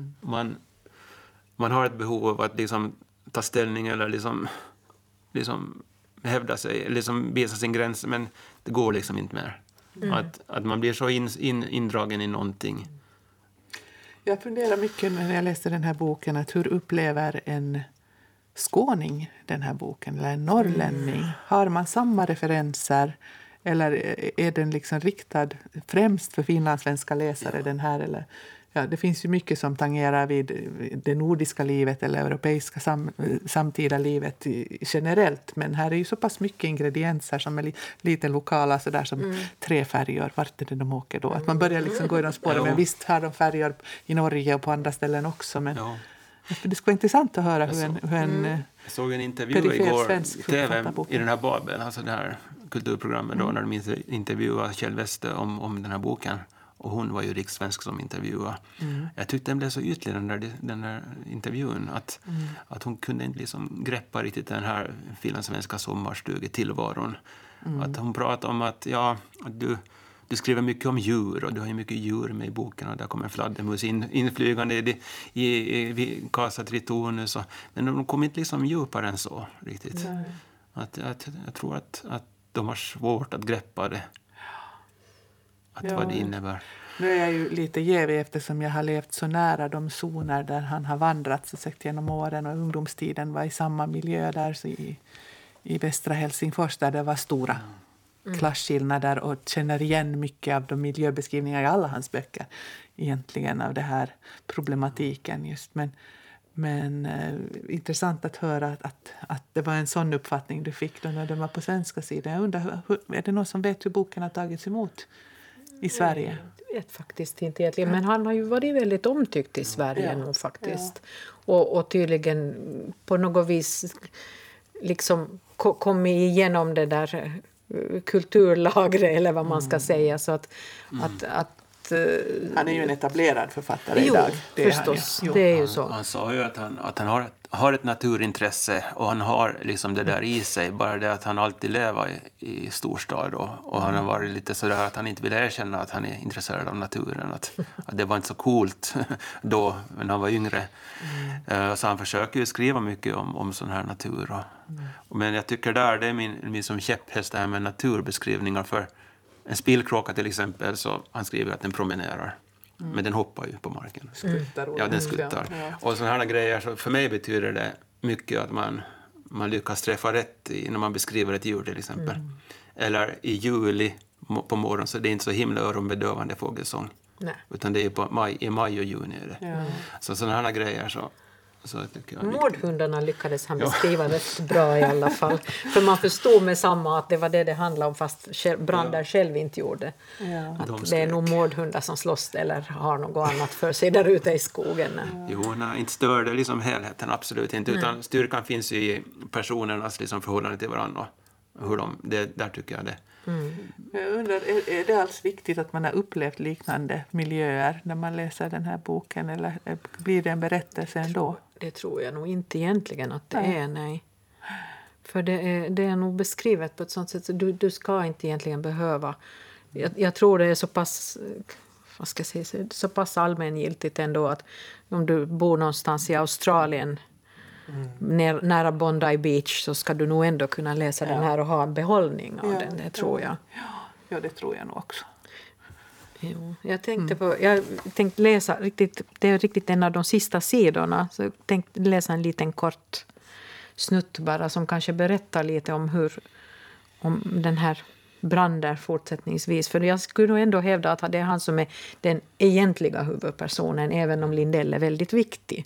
Man har ett behov av att liksom ta ställning eller liksom hävda sig, liksom visa sin gräns, men det går liksom inte mer. Att man blir så indragen i någonting.
Jag funderar mycket när jag läste den här boken att hur upplever en skåning den här boken eller en norrlänning? Har man samma referenser eller är den liksom riktad främst för finlandssvenska läsare den här eller? Ja, det finns ju mycket som tangerar vid det nordiska livet eller europeiska samtida livet generellt. Men här är ju så pass mycket ingredienser som är lite lokala, så där som träfärger. Vart är det de åker då? Att man börjar liksom gå i de spåren. Men visst har de färger i Norge och på andra ställen också. Men det skulle vara intressant att höra hur en
jag såg en intervju igår i TV i den här Babel, alltså det här kulturprogrammet då, när de intervjuade Kjell Wester om den här boken. Och hon var ju rikssvensk som intervjuade. Jag tyckte den blev så ytlig den där intervjun. Att hon kunde inte liksom greppa riktigt den här finlandssvenska sommarstugetillvaron. Att hon pratade om att du skriver mycket om djur. Och du har ju mycket djur med i boken. Och där kommer fladdermus inflygande i Casa Tritonus. Men de kom inte liksom djupare än så riktigt. Jag tror att de har svårt att greppa det. Vad det innebär.
Nu är jag ju lite jävig eftersom jag har levt så nära de zoner där han har vandrat så sagt genom åren och ungdomstiden var i samma miljö där så i västra Helsingfors där det var stora klasskillnader och känner igen mycket av de miljöbeskrivningar i alla hans böcker egentligen av det här problematiken just. Men intressant att höra att det var en sån uppfattning du fick då när du var på svenska sidan. Jag undrar, är det någon som vet hur boken har tagits emot i Sverige?
Jag vet faktiskt inte egentligen, men han har ju varit väldigt omtyckt i Sverige nog faktiskt. Och tydligen på något vis liksom kommit igenom det där kulturlagret eller vad man ska säga. Så att
han är ju en etablerad författare idag.
Det förstås. Det är ju så.
Han sa ju att han har ett naturintresse och han har liksom det där i sig. Bara det att han alltid lever i storstad och han har varit lite sådär att han inte vill erkänna att han är intresserad av naturen. Att det var inte så coolt då när han var yngre. Så han försöker ju skriva mycket om sån här natur. Men jag tycker det är min som käpphäst det här med naturbeskrivningar för en spillkråka till exempel, så han skriver att den promenerar. Men den hoppar ju på marken.
Skuttar.
Ja, den skuttar. Och sådana här grejer, så för mig betyder det mycket att man lyckas träffa rätt när man beskriver ett djur till exempel. Eller i juli på morgonen så det är inte så himla öronbedövande fågelsång.
Nej.
Utan det är i maj och juni. Är det.
Ja.
Så sådana här grejer så tycker jag.
Mårdhundarna lyckades han beskriva rätt bra i alla fall. För man förstod med samma att det var det handlade om fast Brander själv inte gjorde.
Ja.
Att det är nog mårdhundar som slåss eller har något annat för sig där ute i skogen.
Jo, nej, inte stör det liksom helheten, absolut inte. Utan styrkan finns i personernas liksom förhållande till varandra. Hur där tycker jag det.
Jag undrar, är det alls viktigt att man har upplevt liknande miljöer när man läser den här boken? Eller blir det en berättelse ändå?
Det tror jag nog inte egentligen att det är, nej. För det är nog beskrivet på ett sånt sätt att du ska inte egentligen behöva. Jag tror det är så pass, vad ska jag säga, så pass allmängiltigt ändå att om du bor någonstans i Australien nära Bondi Beach så ska du nog ändå kunna läsa den här och ha en behållning av den, det tror jag.
Ja, det tror jag nog också.
Jo, jag tänkte läsa det är riktigt en av de sista sidorna, så jag tänkte läsa en liten kort snutt bara som kanske berättar lite om den här Brander fortsättningsvis. För jag skulle nog ändå hävda att det är han som är den egentliga huvudpersonen, även om Lindell är väldigt viktig.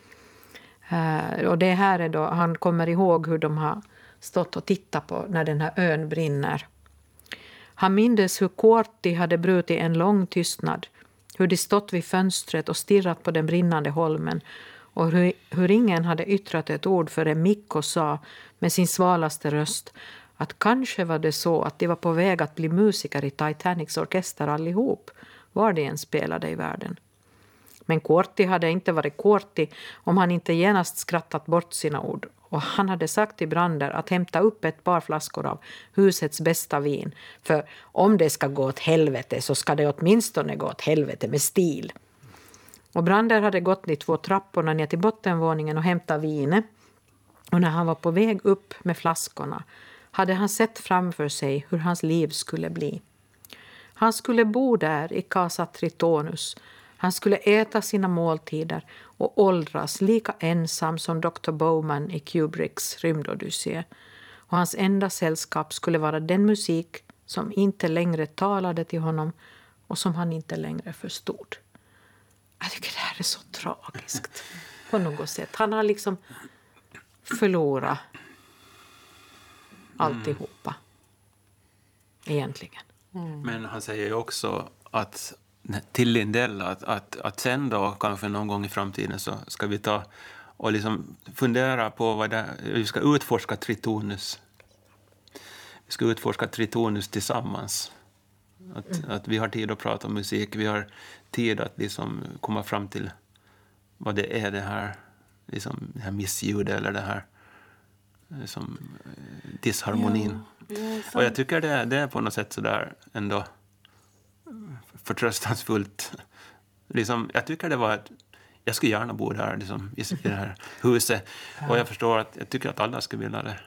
Och det här är då, han kommer ihåg hur de har stått och tittat på när den här ön brinner. Han mindes hur Korti hade brutit en lång tystnad, hur de stått vid fönstret och stirrat på den brinnande holmen och hur ingen hade yttrat ett ord förrän Mikko sa med sin svalaste röst att kanske var det så att de var på väg att bli musiker i Titanics orkester allihop, var de än spelade i världen. Men Korti hade inte varit Korti om han inte genast skrattat bort sina ord. Och han hade sagt till Brander att hämta upp ett par flaskor av husets bästa vin. För om det ska gå åt helvete så ska det åtminstone gå åt helvete med stil. Och Brander hade gått de 2 trapporna ner till bottenvåningen och hämtat vinet. Och när han var på väg upp med flaskorna hade han sett framför sig hur hans liv skulle bli. Han skulle bo där i Casa Tritonus. Han skulle äta sina måltider och åldras lika ensam som Dr. Bowman i Kubricks rymdodyssé. Och hans enda sällskap skulle vara den musik som inte längre talade till honom och som han inte längre förstod. Jag tycker det här är så tragiskt på något sätt. Han har liksom förlorat alltihopa egentligen.
Men han säger ju också att till Lindell att sen då kanske någon gång i framtiden så ska vi ta och liksom fundera på vi ska utforska Tritonus. Vi ska utforska Tritonus tillsammans. Att vi har tid att prata om musik, vi har tid att liksom komma fram till vad det är det här missljudet eller det här liksom disharmonin. Ja, och jag tycker det är på något sätt så där ändå förtröstansfullt. Liksom, jag tycker det var jag skulle gärna bo där liksom, i det här huset. Och jag förstår att jag tycker att alla skulle vilja det.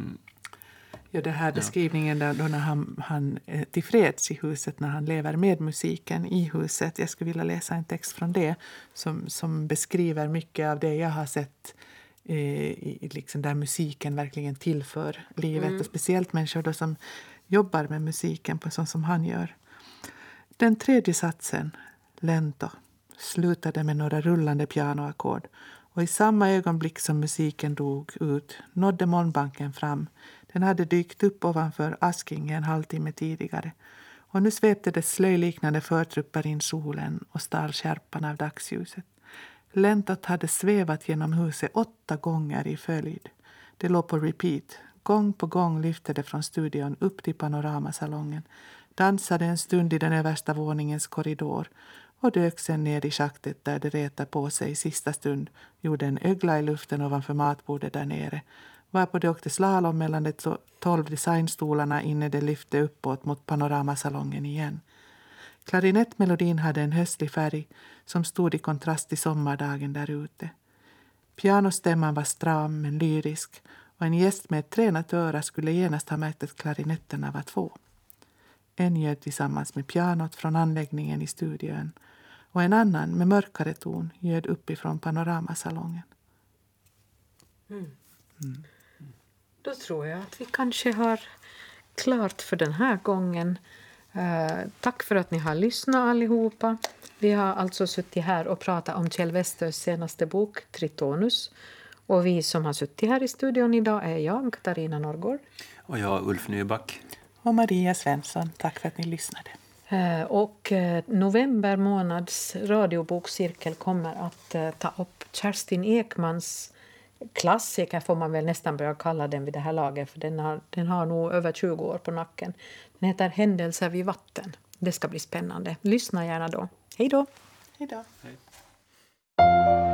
Ja, det här beskrivningen då när han är tillfreds i huset, när han lever med musiken i huset. Jag skulle vilja läsa en text från det som beskriver mycket av det jag har sett liksom där musiken verkligen tillför livet. Och speciellt människor då som jobbar med musiken på sånt som han gör. Den 3:e satsen, Lento, slutade med några rullande pianoackord. Och i samma ögonblick som musiken dog ut nådde molnbanken fram. Den hade dykt upp ovanför Asking en halvtimme tidigare. Och nu svepte dess slöjliknande förtrupper in solen och stal skärpan av dagsljuset. Lentot hade svävat genom huset 8 gånger i följd. Det låg på repeat. Gång på gång lyfte det från studion upp till panoramasalongen. Dansade en stund i den översta våningens korridor och dök sen ner i schaktet där det retade på sig i sista stund, gjorde en ögla i luften ovanför matbordet där nere, varpå det åkte slalom mellan de 12 designstolarna innan det lyfte uppåt mot panoramasalongen igen. Klarinettmelodin hade en höstlig färg som stod i kontrast till sommardagen där ute. Pianostämman var stram men lyrisk och en gäst med ett tränat öra skulle genast ha märkt att klarinetterna var 2. En ljöd tillsammans med pianot från anläggningen i studion och en annan med mörkare ton ljöd uppifrån panoramasalongen.
Då tror jag att vi kanske har klart för den här gången. Tack för att ni har lyssnat allihopa. Vi har alltså suttit här och pratat om Kjell Westös senaste bok Tritonus. Och vi som har suttit här i studion idag är jag, Katarina Norrgård.
Och jag, Ulf Nyback.
Och Maria Svensson. Tack för att ni lyssnade.
Och november månads radiobokcirkel kommer att ta upp Kerstin Ekmans klassiker, får man väl nästan börja kalla den vid det här laget, för den har nog över 20 år på nacken. Den heter Händelser vid vatten. Det ska bli spännande. Lyssna gärna då. Hej då!
Hej då!
Hej.